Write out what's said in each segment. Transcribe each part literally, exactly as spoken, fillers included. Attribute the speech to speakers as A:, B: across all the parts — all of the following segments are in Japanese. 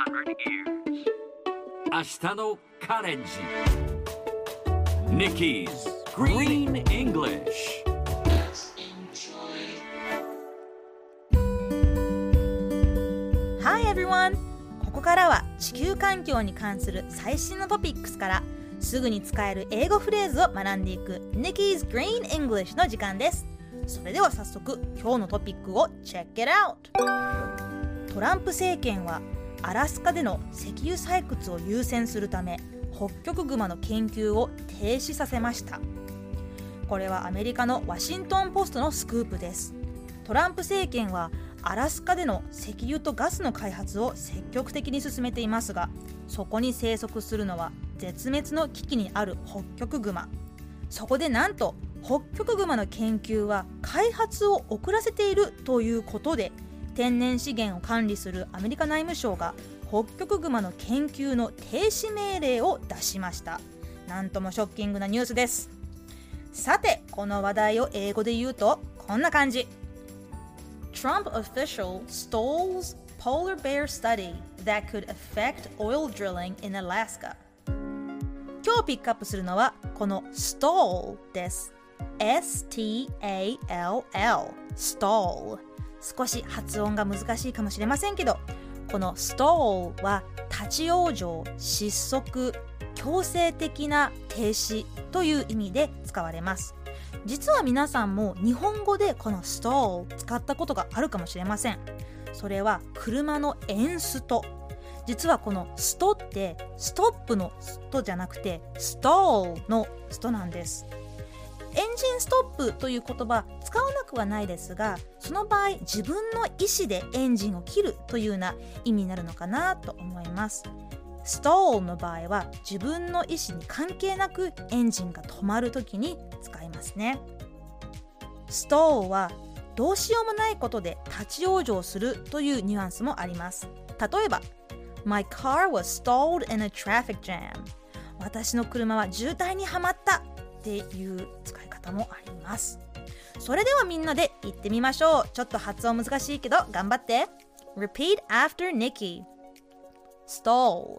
A: 明日のカレンジ Nikki's Green English。
B: Hi everyone! ここからは地球環境に関する最新のトピックスからすぐに使える英語フレーズを学んでいく Nikki's Green English の時間です。それでは早速今日のトピックを Check it out! トランプ政権はアラスカでの石油採掘を優先するためホッキョクグマの研究を停止させました。これはアメリカのワシントンポストのスクープです。トランプ政権はアラスカでの石油とガスの開発を積極的に進めていますが、そこに生息するのは絶滅の危機にあるホッキョクグマ。そこでなんとホッキョクグマの研究は開発を遅らせているということで、天然資源を管理するアメリカ内務省がホッキョクグマの研究の停止命令を出しました。なんともショッキングなニュースです。さて、この話題を英語で言うとこんな感じ。 Trump official stalls polar bear study that could affect oil drilling in Alaska。 今日ピックアップするのはこの stall です。 エスティーエーエルエル stall。少し発音が難しいかもしれませんけど、この stall は立ち往生、失速、強制的な停止という意味で使われます。実は皆さんも日本語でこの stall 使ったことがあるかもしれません。それは車のエンスト。実はこのストってストップのストじゃなくて stall のストなんです。エンジンストップという言葉使わなくはないですが、その場合自分の意思でエンジンを切るというような意味になるのかなと思います。ストールの場合は自分の意思に関係なくエンジンが止まるときに使いますね。ストールはどうしようもないことで立ち往生するというニュアンスもあります。例えば My car was stalled in a traffic jam。 私の車は渋滞にはまったっていう使い方もあります。それではみんなで言ってみましょう。ちょっと発音難しいけど頑張って。 Repeat after Nikki。 Stall。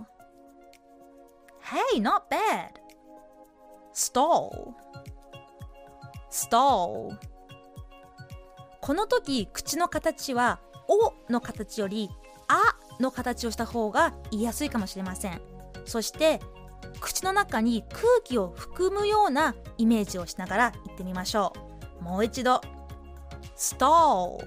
B: Hey, not bad。 Stall。 Stall。 この時口の形はおの形よりあの形をした方が言いやすいかもしれません。そして口の中に空気を含むようなイメージをしながら言ってみましょう。もう一度 stall。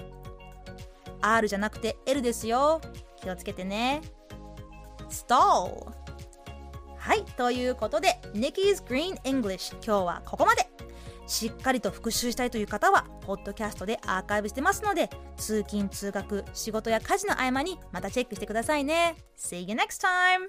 B: R じゃなくて L ですよ。気をつけてね。 stall。 はい、ということで Nikki's Green English 今日はここまで。しっかりと復習したいという方はポッドキャストでアーカイブしてますので、通勤通学仕事や家事の合間にまたチェックしてくださいね。 See you next time。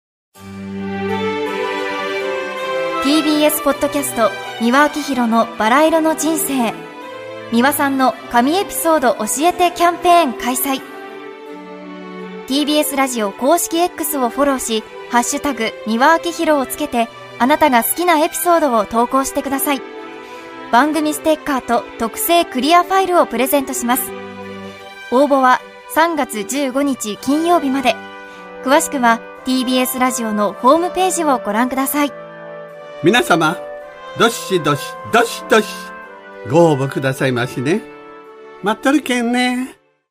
C: ティービーエス ポッドキャスト三輪明宏のバラ色の人生。三輪さんの神エピソード教えてキャンペーン開催。 ティービーエス ラジオ公式 X をフォローし、ハッシュタグ三輪明宏をつけてあなたが好きなエピソードを投稿してください。番組ステッカーと特製クリアファイルをプレゼントします。応募はさんがつじゅうごにち金曜日まで。詳しくは ティービーエス ラジオのホームページをご覧ください。
D: 皆様、どしどしどしどしご応募くださいましね。待っとるけんね。